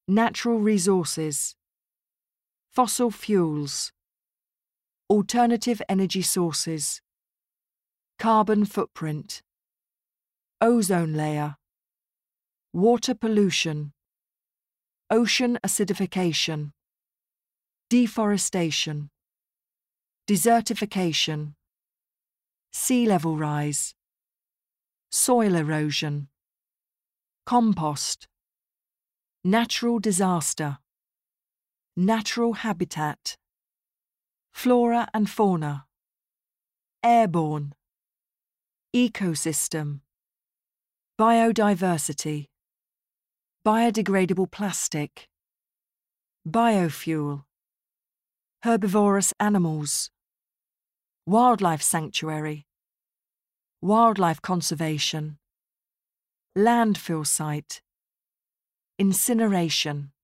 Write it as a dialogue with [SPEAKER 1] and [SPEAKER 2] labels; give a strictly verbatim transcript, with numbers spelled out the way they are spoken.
[SPEAKER 1] natural resources, fossil fuels, alternative energy sources, carbon footprint, ozone layer, water pollution, ocean acidification, deforestation, desertification, sea level rise, soil erosion, compost, natural disaster, natural habitat, flora and fauna, airborne, ecosystem, biodiversity, biodegradable plastic, biofuel, herbivorous animals, wildlife sanctuary, wildlife conservation, landfill site, incineration.